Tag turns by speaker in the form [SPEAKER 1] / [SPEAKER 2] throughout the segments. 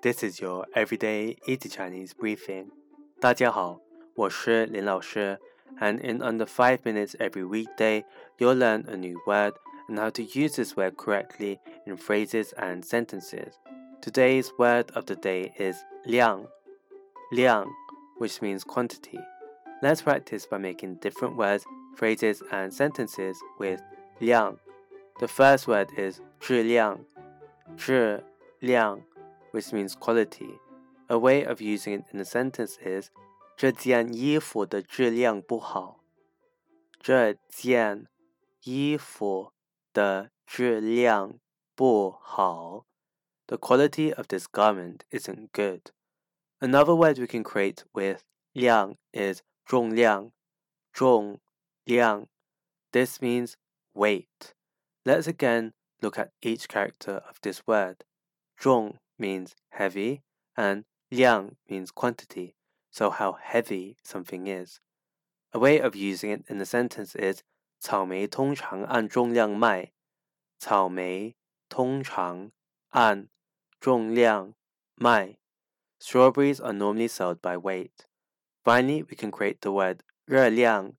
[SPEAKER 1] This is your everyday easy Chinese briefing. 大家好，我是林老师 and in under 5 minutes every weekday, you'll learn a new word and how to use this word correctly in phrases and sentences. Today's word of the day is 量, which means quantity. Let's practice by making different words, phrases, and sentences with 量. The first word is 质量, which means quality. A way of using it in a sentence is 这件衣服的质量不好。这件衣服的质量不好。The quality of this garment isn't good. Another word we can create with 量 is 重量。This means weight. Let's again look at each character of this word. 重 means heavy and 量 means quantity, so how heavy something is. A way of using it in a sentence is 草莓通常按重量卖。草莓通常按重量卖。Strawberries are normally sold by weight. Finally, we can create the word 热量,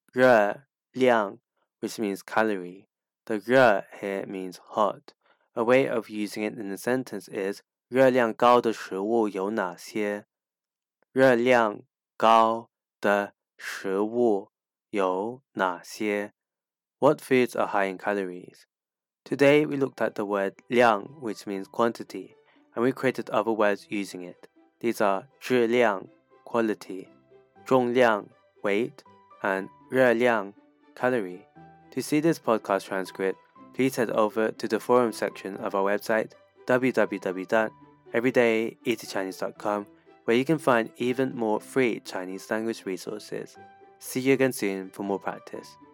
[SPEAKER 1] which means calorie. The 热 here means hot. A way of using it in a sentence is 热量高的食物有哪些？热量高的食物有哪些？ What foods are high in calories? Today we looked at the word 量, which means quantity, and we created other words using it. These are 质量 quality, 重量 weight, and 热量 calorie. To see this podcast transcript, please head over to the forum section of our website www.everydayeasychinese.com, where you can find even more free Chinese language resources. See you again soon for more practice.